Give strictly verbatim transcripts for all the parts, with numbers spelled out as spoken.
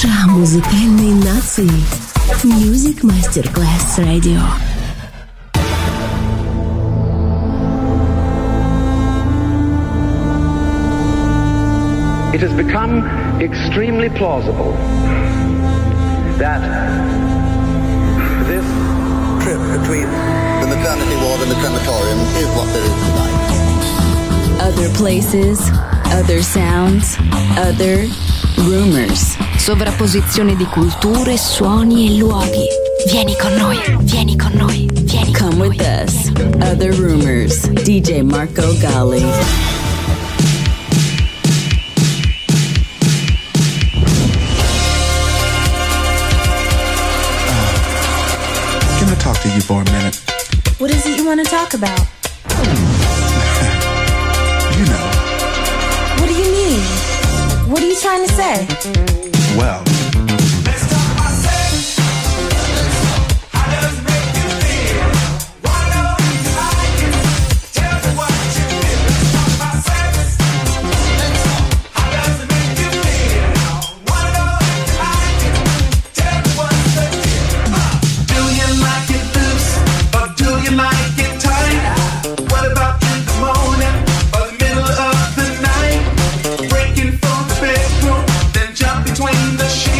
Ваша музыкальная нация. Music Masterclass Radio. It has become extremely plausible that this trip between the maternity ward and the crematorium is what there is tonight. Other places, other sounds, other rumors. Sovrapposizione di culture, suoni e luoghi. Vieni con noi, vieni con noi, vieni con Come noi. With us. Other Rumors. D J Marco Gally. Can I talk to you for a minute? What is it you want to talk about? You know. What do you mean? What are you trying to say? Well, let's talk about sex. How does it make you feel? Why don't you like it? Tell me what you feel. Let's talk about sex. How does it make you feel? Why don't you like it? Tell me what's the deal. Uh, do you like it loose or do you like it tight? What about in the morning or the middle of the night? Breaking from the bedroom, then jump between the sheets.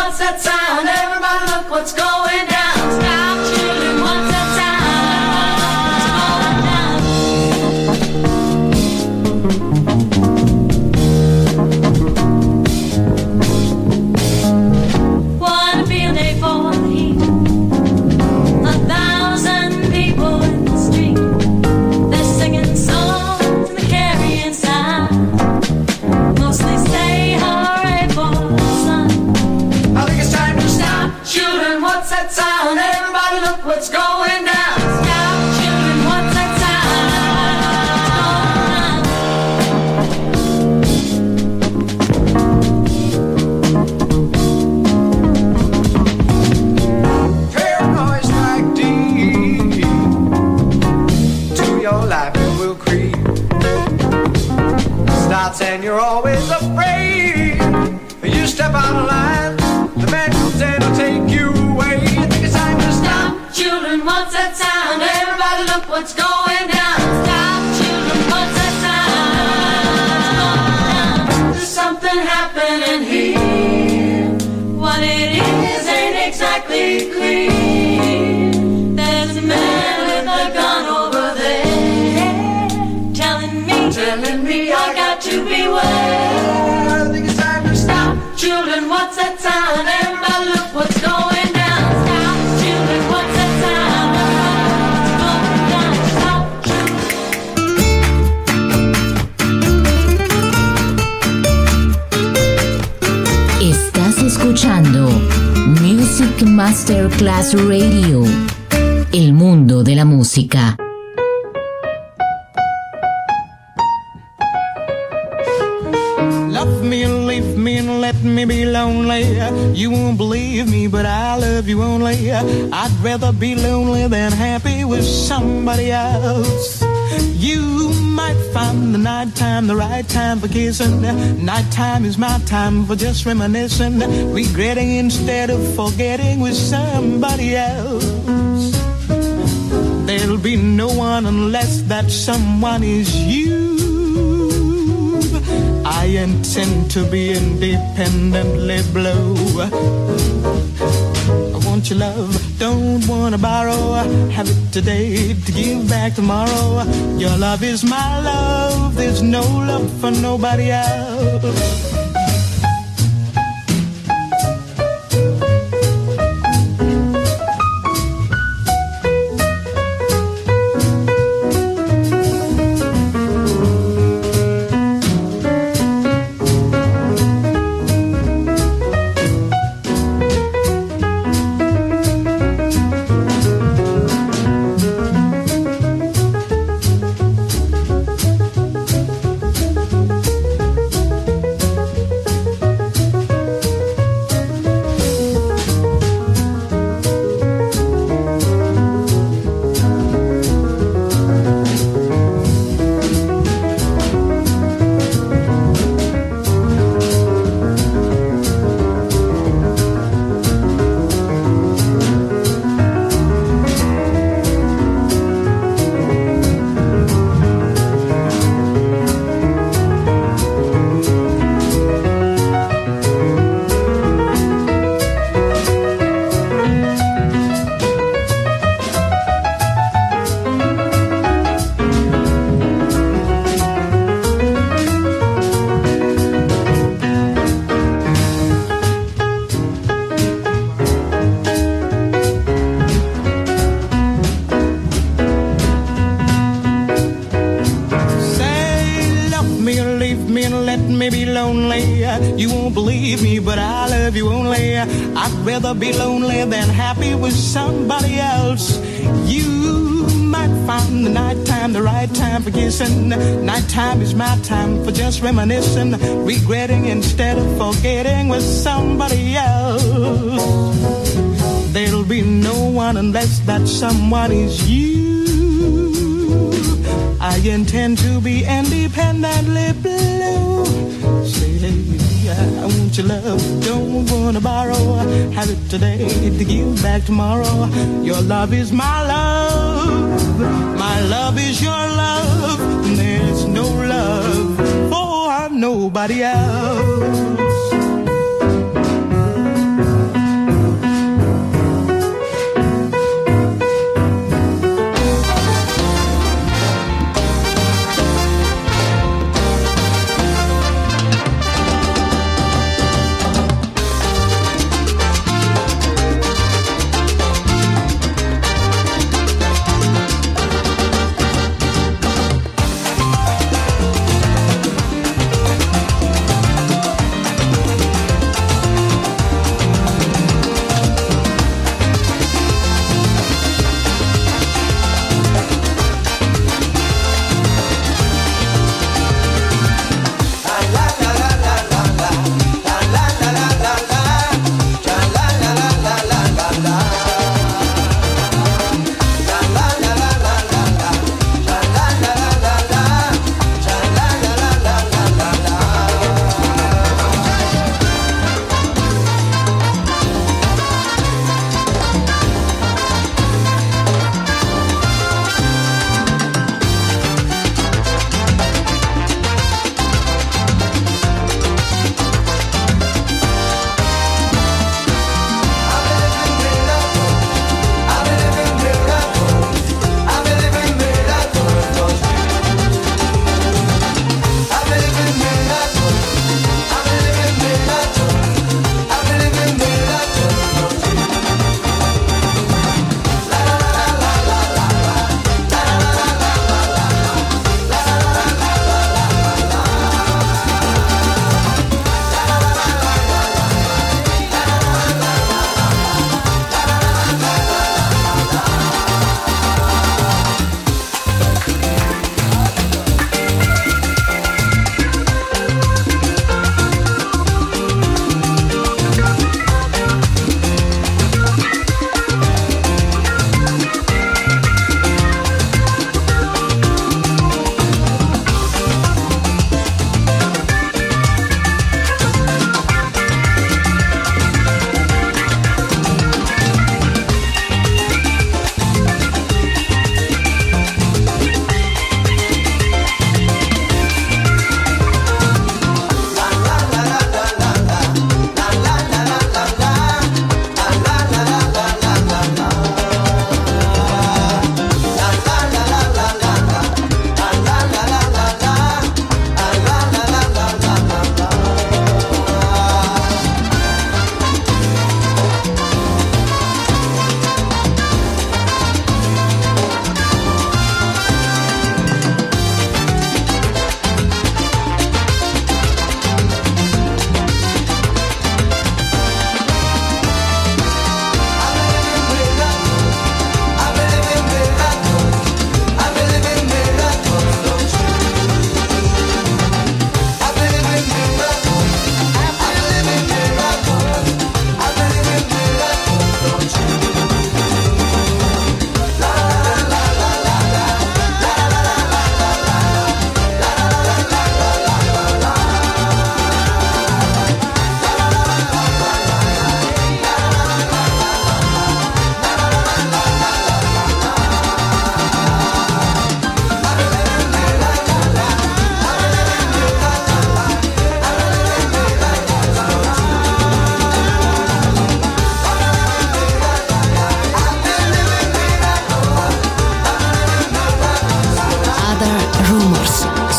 what's that sound? Everybody look what's going down. Stop, children, what's that sound? What a field day for the heat. A thousand people in the street. They're singing songs and they're carrying signs. Mostly say hooray for the sun. I think it's time to stop, children, what's that sound? Everybody look what's going down. Stop, children, what's that Paranoid strike deep to your life it will creep. Starts and you're always afraid. You step out of line, the man comes in to take you away. You think it's time to stop, children, what's that sound? Everybody look what's going down. Stop, children, what's that sound? There's something happening here. What it is ain't exactly clear. There's a man with a gun over there, telling me, telling me I got to beware. I think it's time to stop. Children, what's that sound? Everybody look what's going down. Stop, children, what's that sound? Estás escuchando Music Masterclass Radio, el mundo de la música. Love me and leave me and let me be lonely. You won't believe me, but I love you only. I'd rather be lonely than happy with somebody else. You might find the nighttime the right time for kissing. Nighttime is my time for just reminiscing, regretting instead of forgetting with somebody else. There'll be no one unless that someone is you. I intend to be independently blue. I want your love, don't wanna borrow. Have it today to give back tomorrow. Your love is my love, there's no love for nobody else. I'd rather be lonely than happy with somebody else. You might find the nighttime the right time for kissing. Nighttime is my time for just reminiscing, regretting instead of forgetting with somebody else. There'll be no one unless that someone is you. I intend to be independently blue. Say, I want your love, don't wanna borrow. Have it today to give back tomorrow. Your love is my love, my love is your love. There's no love for nobody else.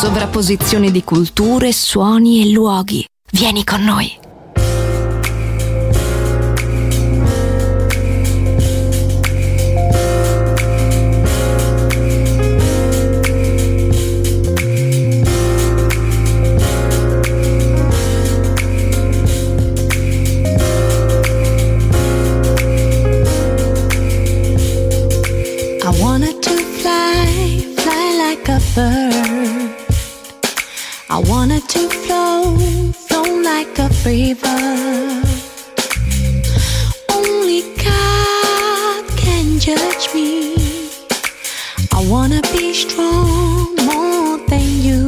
Sovrapposizione di culture, suoni e luoghi. Vieni con noi. I wanted to fly, fly like a bird. I wanted to flow, flow like a free bird. Only God can judge me. I wanna be strong more than you.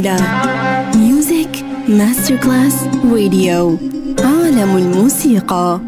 جديدة. Music Masterclass Radio. عالم الموسيقى.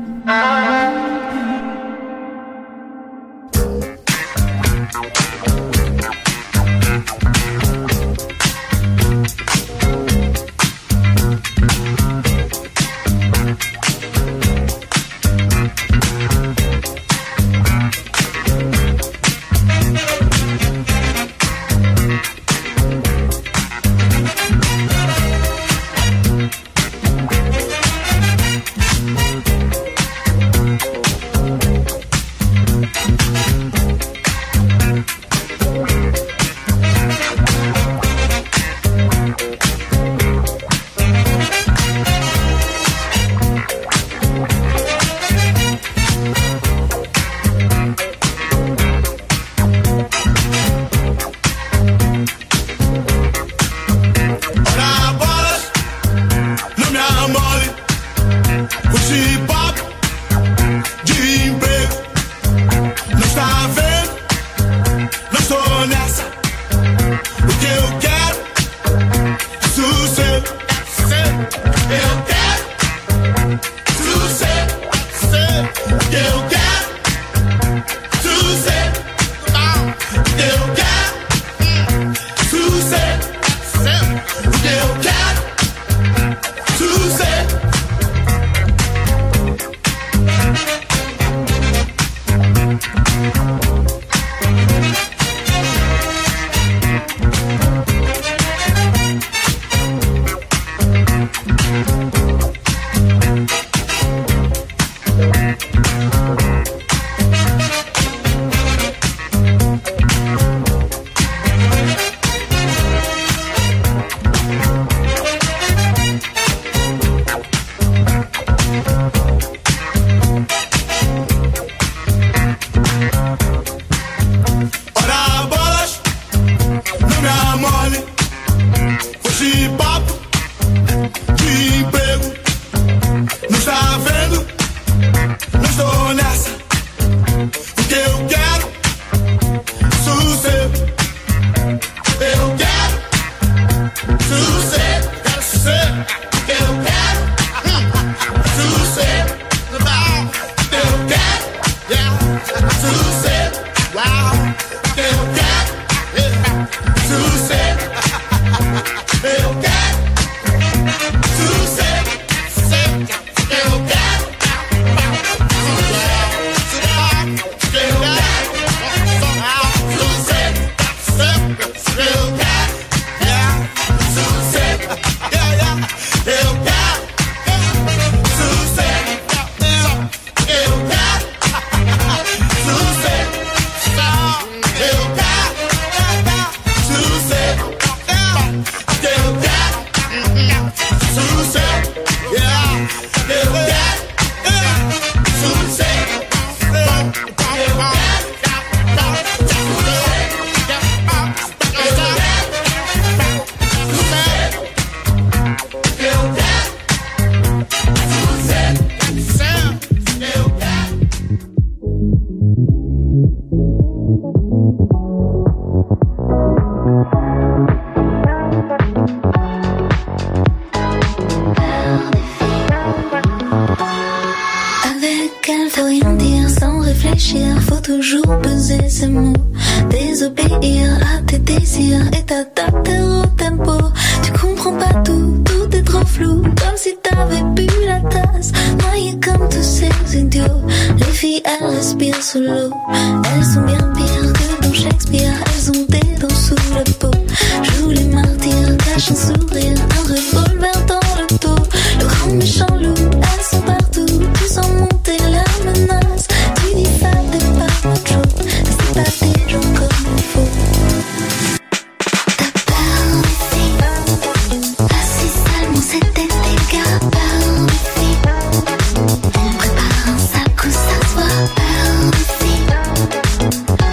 On prépare un sale coup, ça se voit.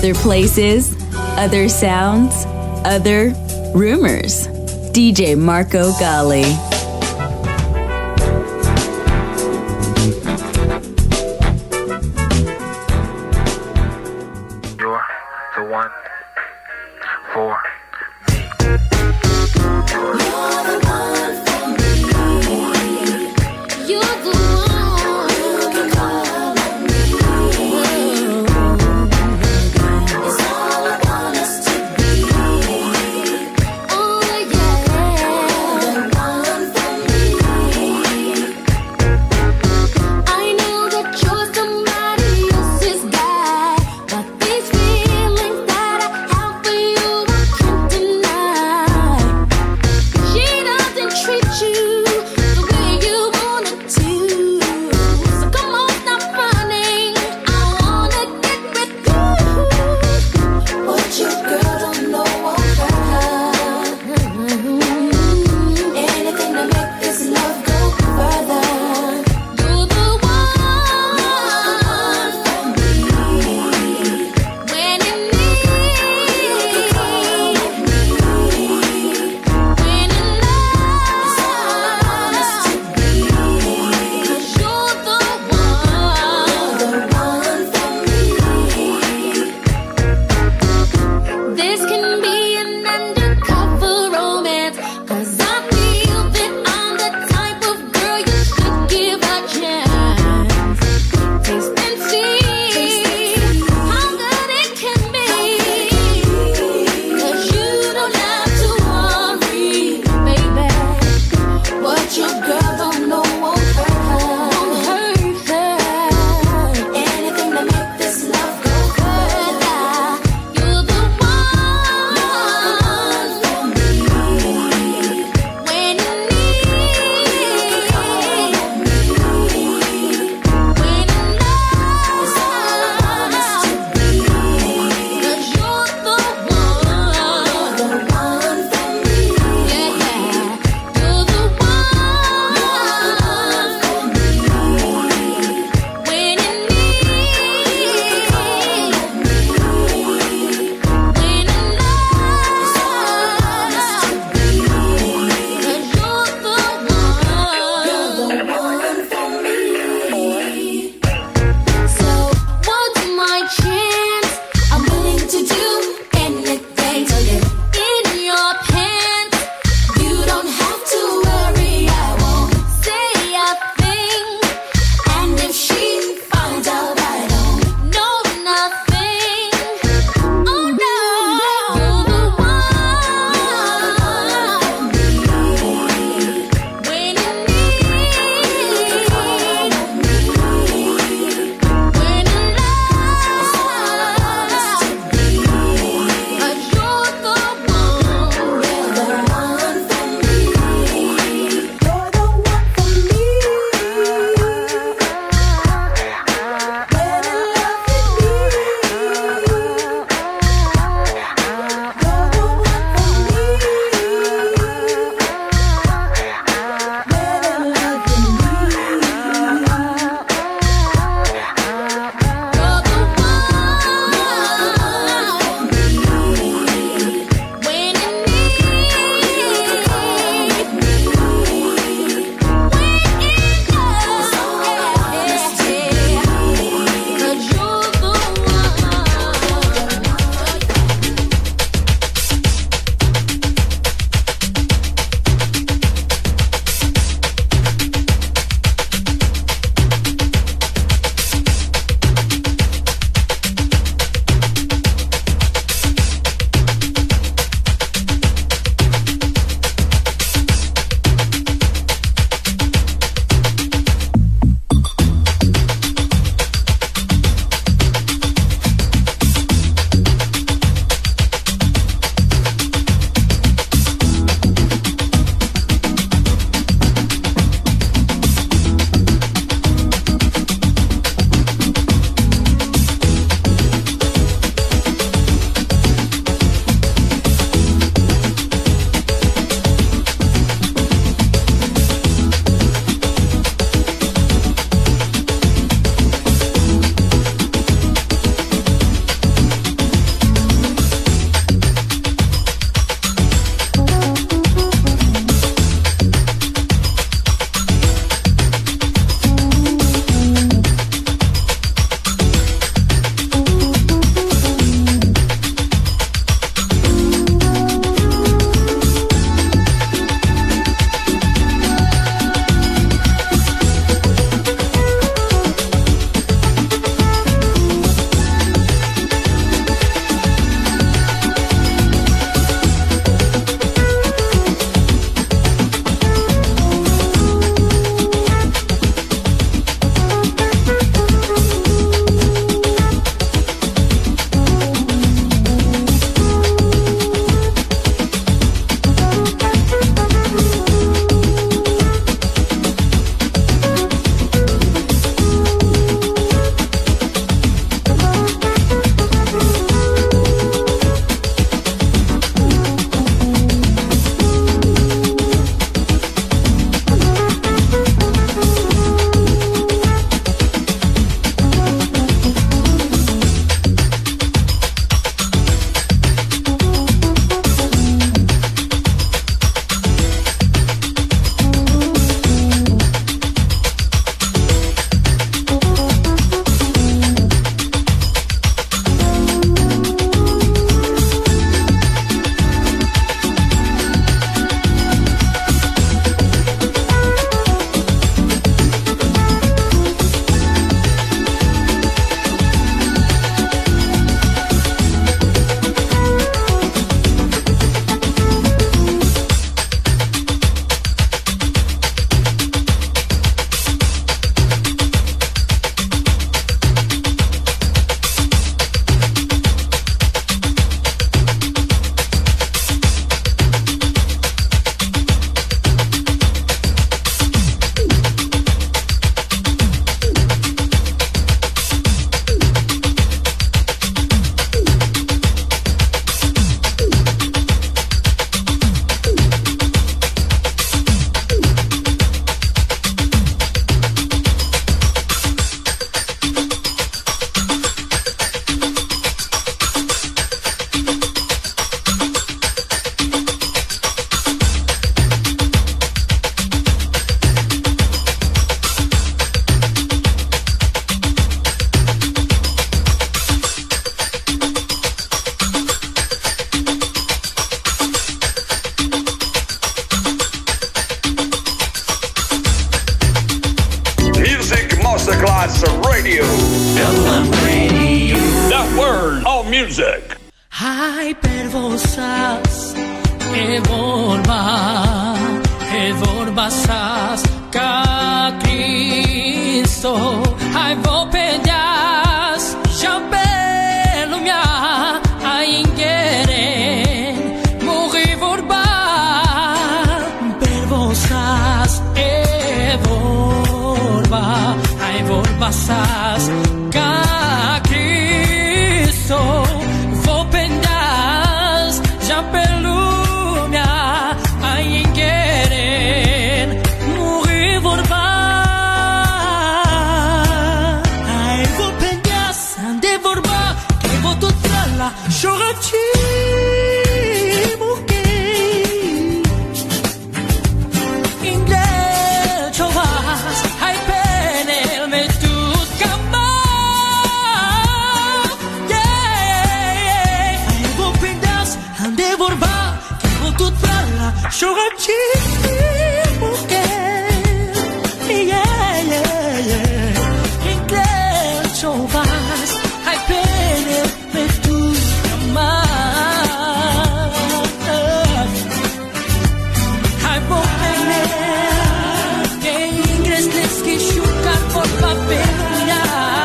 other places, other sounds, other rumors. D J Marco Gally. You're the one for One Master Radio. L M Radio. The word of music. Hai per vosas e vorba e vorba sas ca Cristo hai vo pedias jambe lumia ai ingere muri vorba per vosas e vorba ai vorba sas ca Cristo Pelumia ai ingeren muri vorba ai vo pendias ande vorba che vo tutralla shorachi muke ingel chovas ai penel me tut kama yeah ai vo pendias ande vorba Shogachi muke yeah yeah yeah Ingel chovas hai pene me tu amar hai bo pene que ingres neski shukar por papelina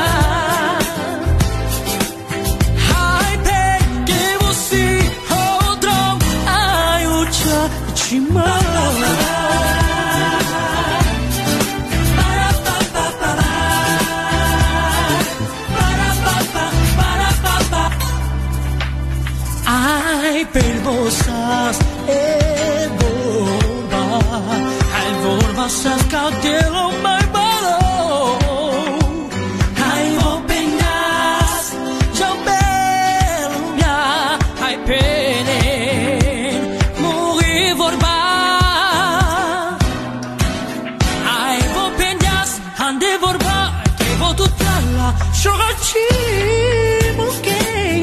hai pe que você outro ai ucha chima Ai per vosas e vorba ai vorba sas cautelo mai balo ai vo penas jambelumia ai pene muri vorba ai vo penas ande vorba che vo tutralla shogachi muke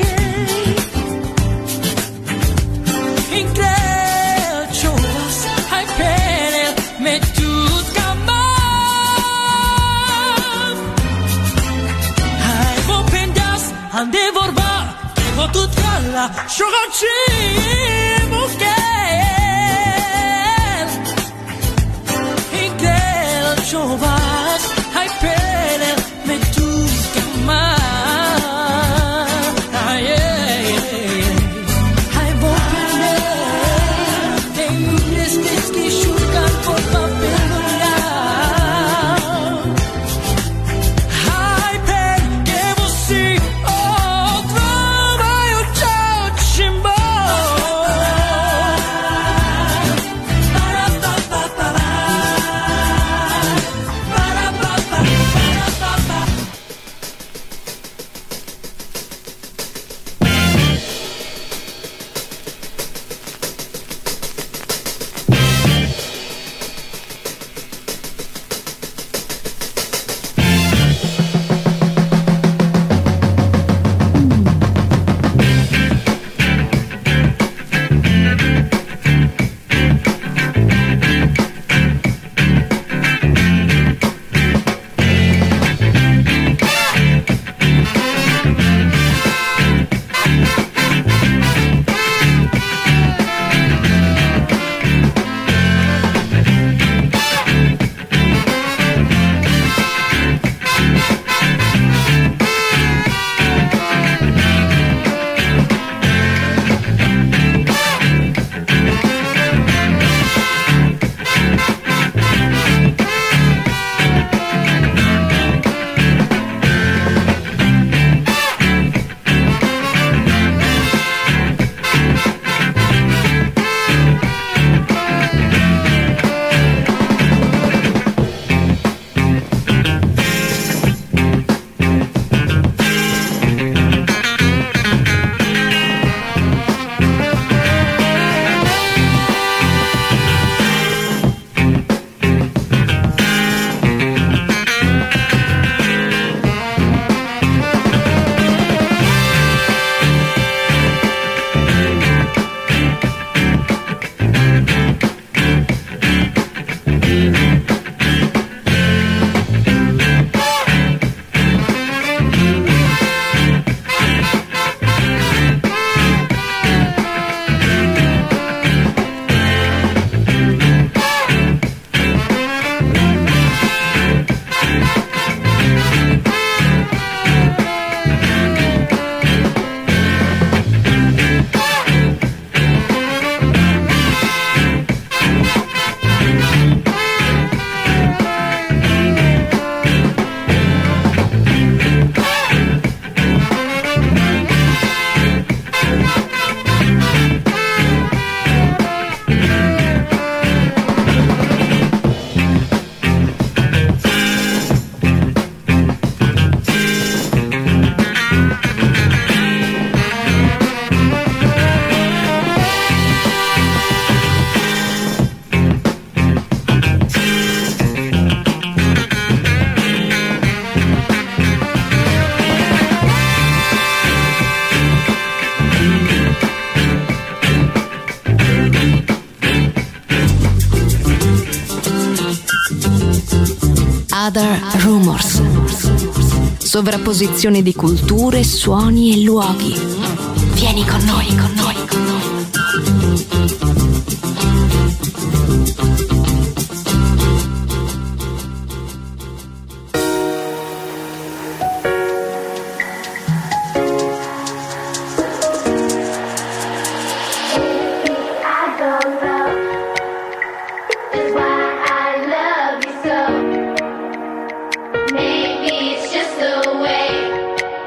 Ande vorba, che vo tutralla, shogachi muker Ingel chovas, hai pene, me tu kama Ai, ai, ai, vo pene Che ingles neski shurkan por papeluna Hai pene, che vo si Oh, vai, oh, ciao, cimbo Other Rumors. Sovrapposizione di culture, suoni e luoghi. Vieni con noi, con noi, con noi.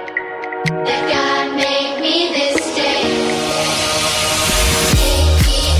That God made me this day.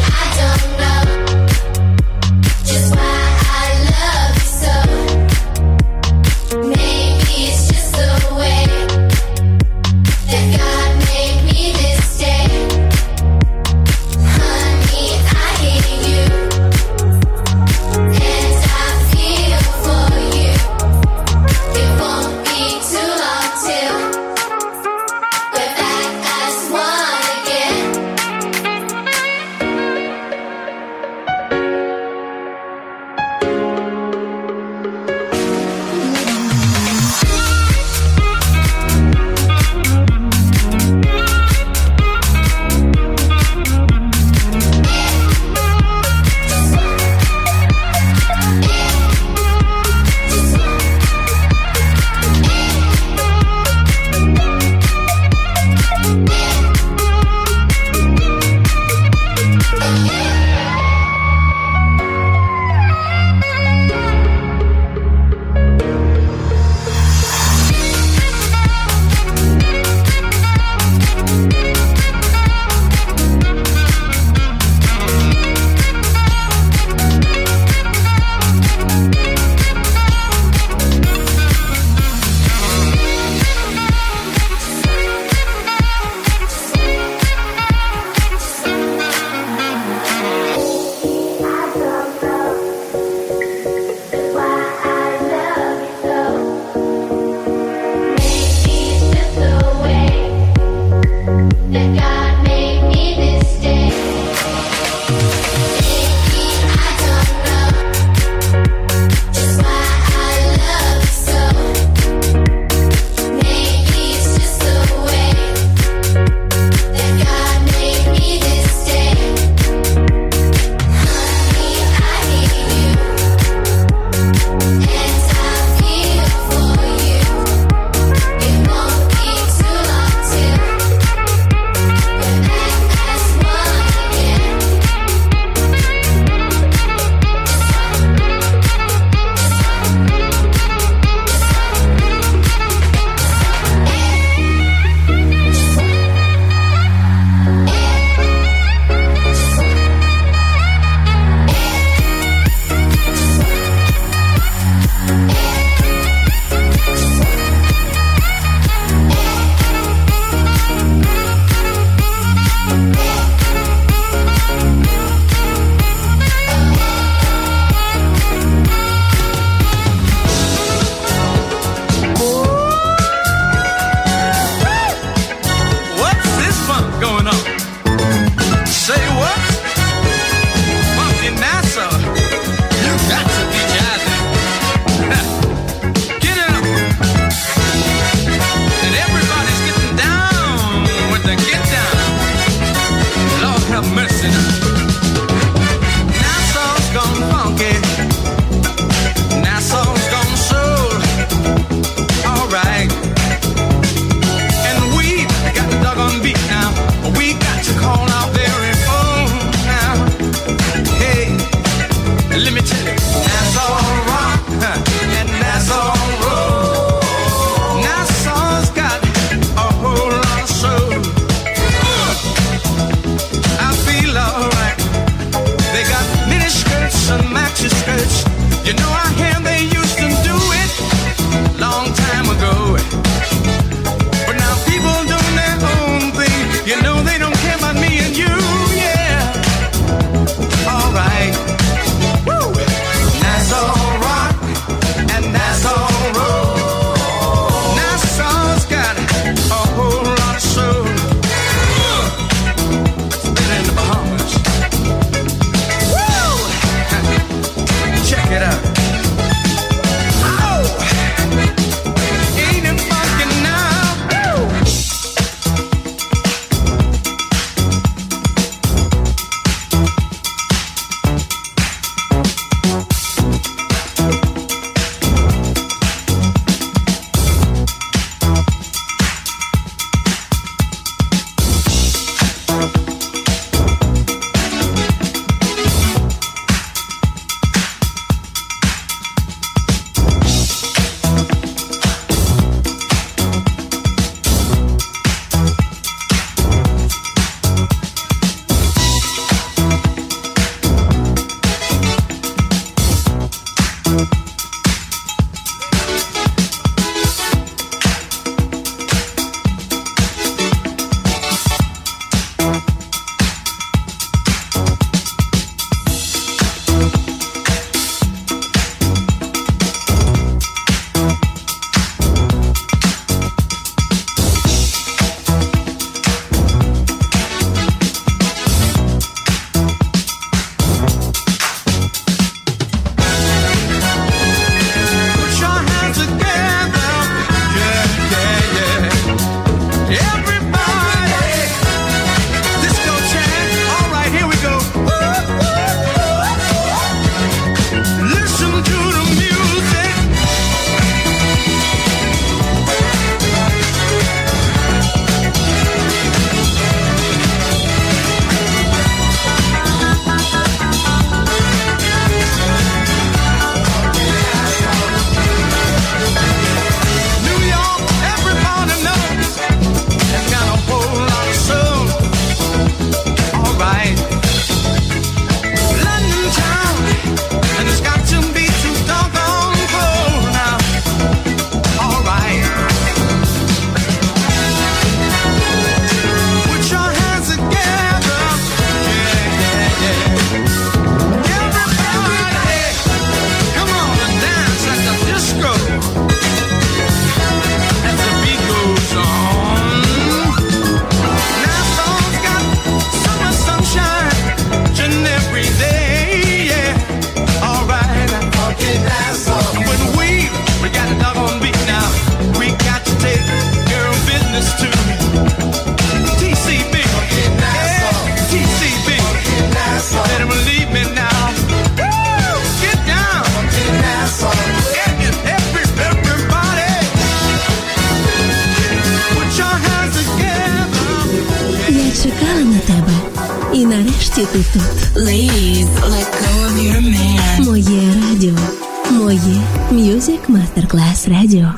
tut tut. Ladies, let go of your man. Moje Radio. Moje Music Masterclass Radio.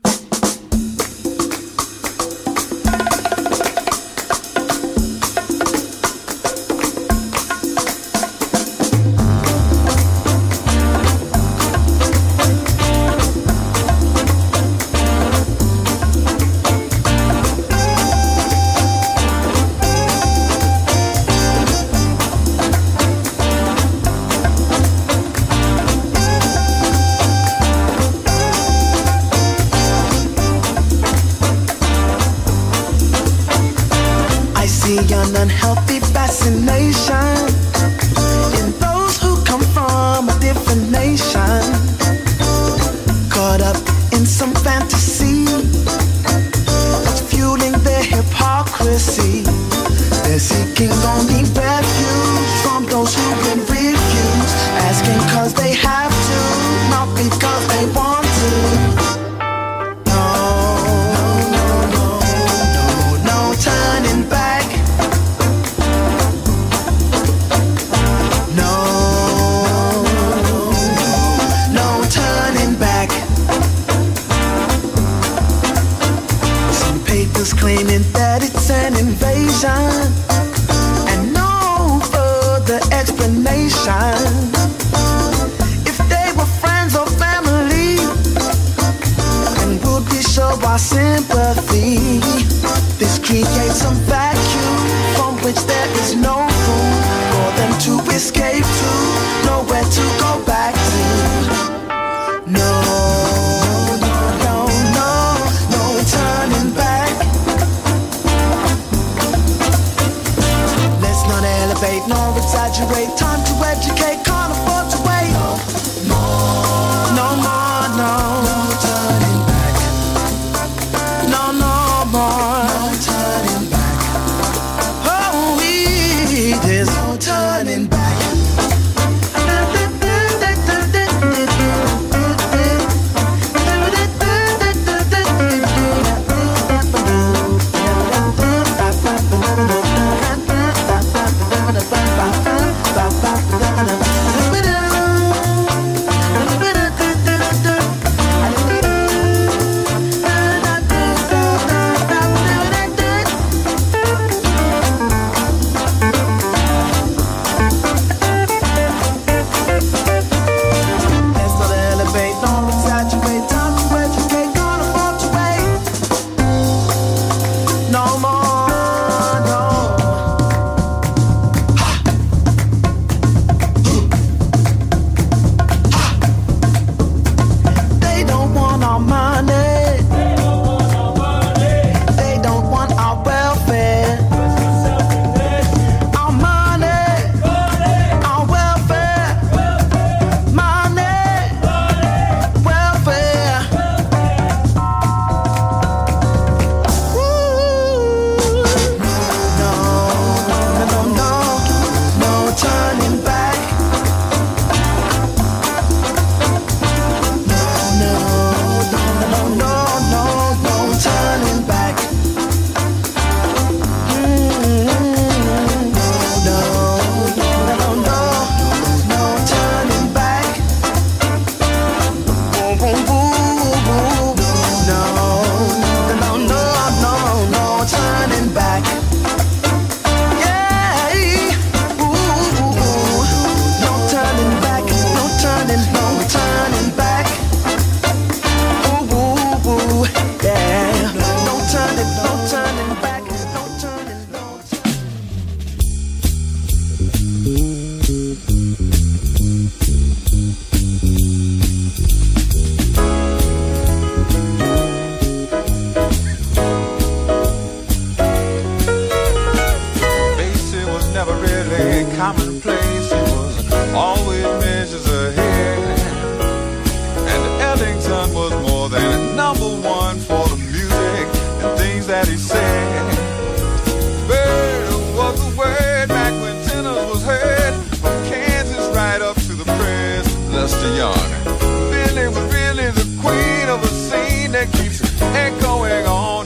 An unhealthy fascination in those who come from a different nation, caught up in some fantasy that's fueling their hypocrisy. They're seeking only refuge from those who've been refused, asking cause they have to, not because they want to. Claiming that it's an invasion and no further explanation. If they were friends or family, then would we show our sympathy? This creates a vacuum from which there is no room for them to escape to, nowhere to go back to. No. Nor exaggerate, time to educate, can't afford to wait. No more, no more, no, no turning back. No, no more, no turning back. Oh, we, there's no turning back.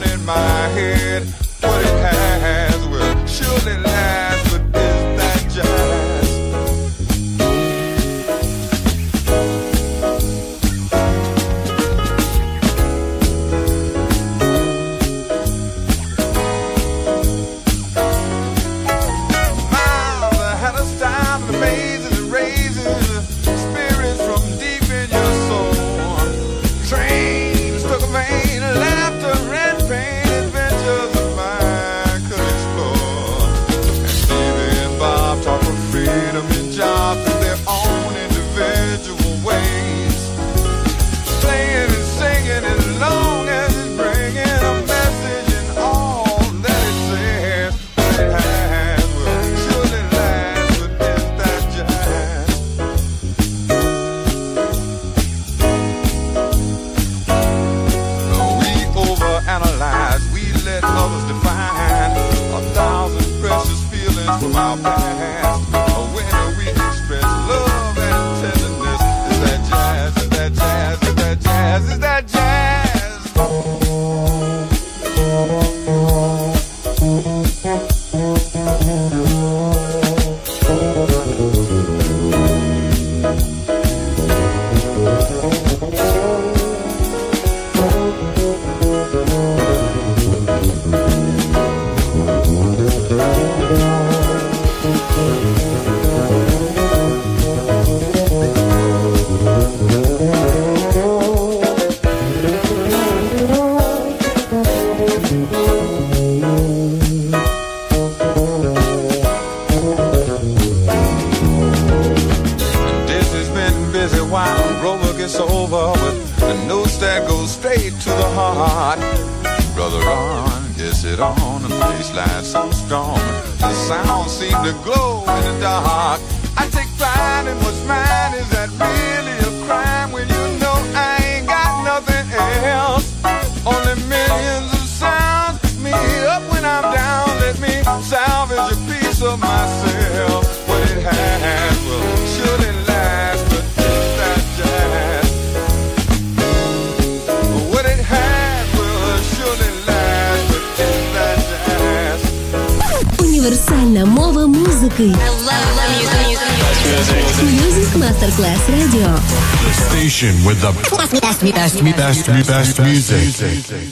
What it has will surely last, but is that just it's over with the notes that go straight to the heart. Brother Ron gets it on, the bass line so strong, the sound seems to glow in the dark. I take pride in what's mine, is that really a crime when you know I ain't got nothing else? Only millions of sounds pick me up when I'm down. Let me salvage a piece of myself. What it has will surely last, but it's that jazz. What it has will surely last, but it's that jazz. Универсальная мова музыки. Music Masterclass Radio. The station with the best, best, best, best, best music.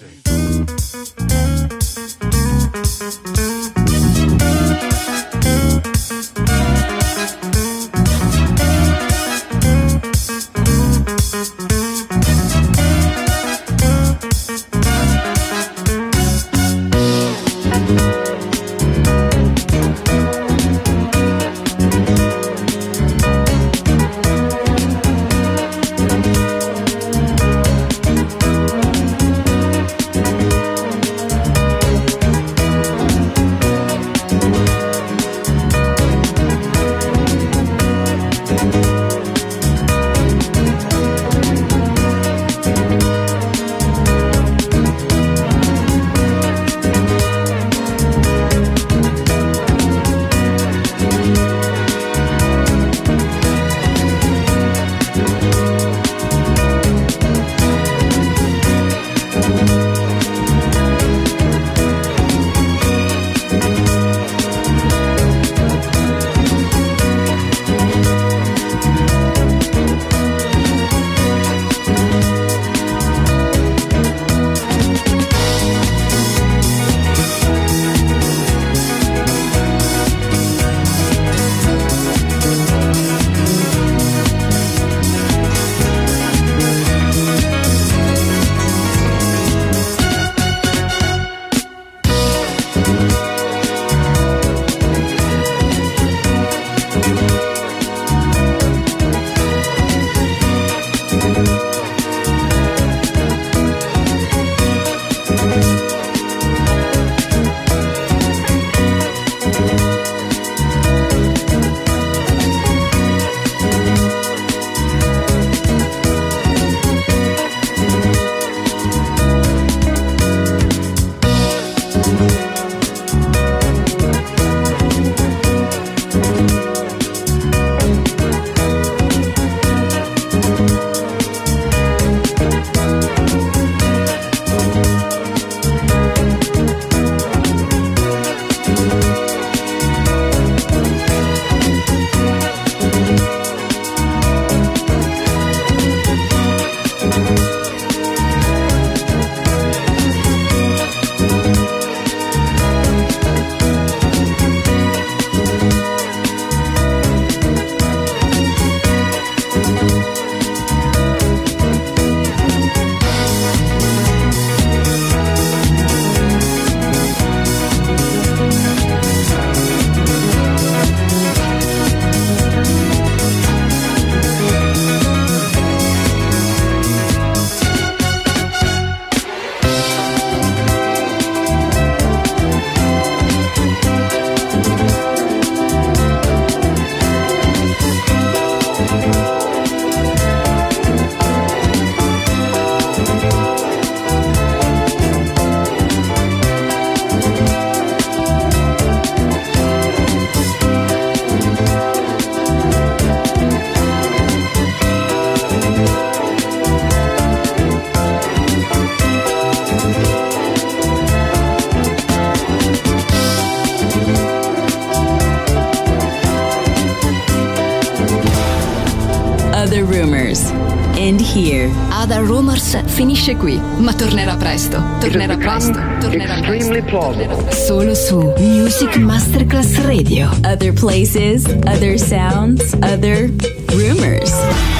Other Rumors. And here. Other Rumors finisce qui, ma tornerà presto. Tornerà presto. Tornerà presto. Tornerà solo su Music Masterclass Radio. Other places, other sounds, other rumors.